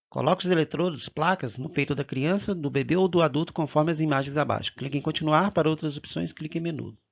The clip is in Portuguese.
Coloque os eletrodos, placas, no peito da criança, do bebê ou do adulto, conforme as imagens abaixo. Clique em continuar. Para outras opções, clique em menu.